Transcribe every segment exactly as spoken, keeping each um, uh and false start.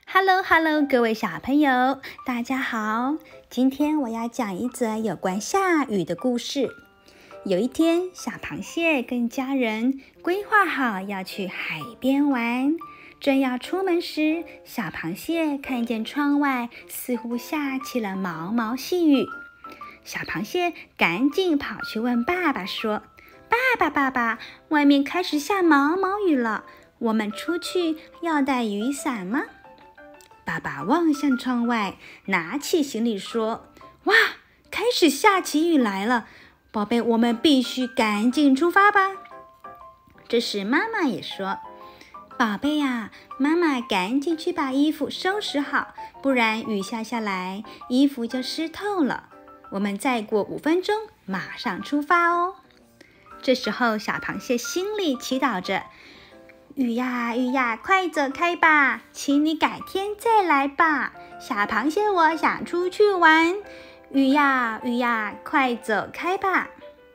Hello Hello， 各位小朋友，大家好！今天我要講一則有關下雨的故事。有一天，小螃蟹跟家人規劃好要去海邊玩，正要出門時，小螃蟹看見窗外似乎下起了毛毛細雨。小螃蟹趕緊跑去問爸爸說：“爸爸爸爸，外面開始下毛毛雨了，我們出去要帶雨傘嗎？”爸爸望向窗外，拿起行李說：“哇，開始下起雨來了，寶貝，我們必須趕緊出發吧。”這時媽媽也說：“寶貝呀，媽媽趕緊去把衣服收拾好，不然雨下下來，衣服就濕透了。我們再過五分鐘，馬上出發哦。”這時候，小螃蟹心裡祈禱着：“雨呀雨呀，快走開吧，請你改天再來吧。小螃蟹，我想出去玩。雨呀雨呀，快走開吧。”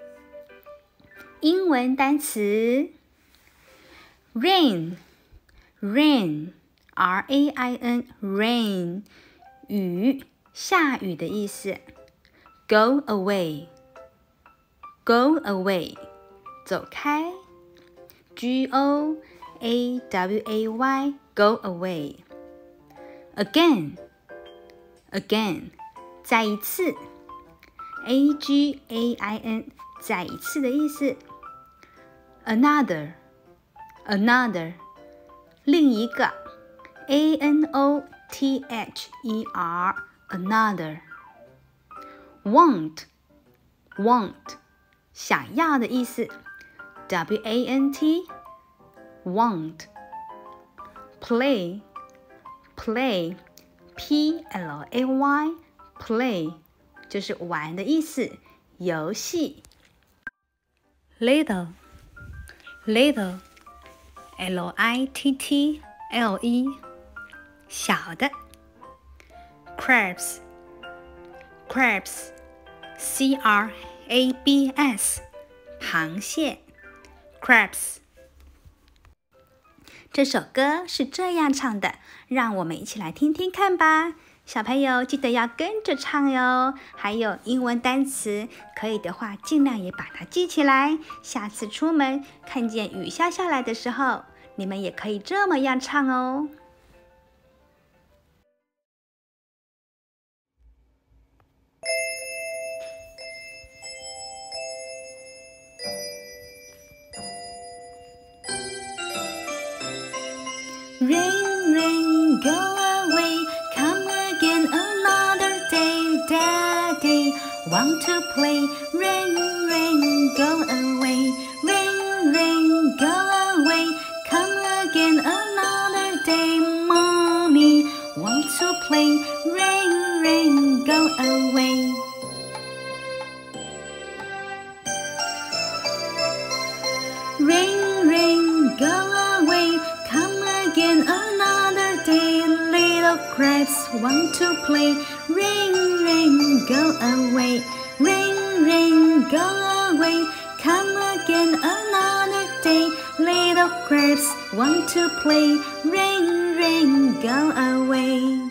英文單詞 rain rain R A I N rain 雨，下雨的意思。Go away go away 走開。G O A W A Y Go away. Again Again 再一次。A G A I N 再一次的意思。Another Another 另一個。A N O T H E R Another. Want Want 想要的意思。W A N T Want. Play Play P L A Y Play 就是玩的意思，遊戲。Little Little L I T T L E 小的。Crabs Crabs C R A B S 螃蟹。Crabs。這首歌是這樣唱的，讓我們一起來聽聽看吧。小朋友記得要跟着唱喲。還有英文單詞，可以的話盡量也把它記起來。下次出門看見雨下下來的時候，你們也可以這麼樣唱哦。Rain, rain, go away, come again another day. Daddy, want to play. Rain, rain, go away. Rain, rain, go away, come again another day. Mommy, want to play. Rain, rain, go away. Rain, rain, go away, come again another day. Little crabs want to play. Rain, rain, go away. Rain, rain, go away, come again another day. Little crabs want to play. Rain, rain, go away.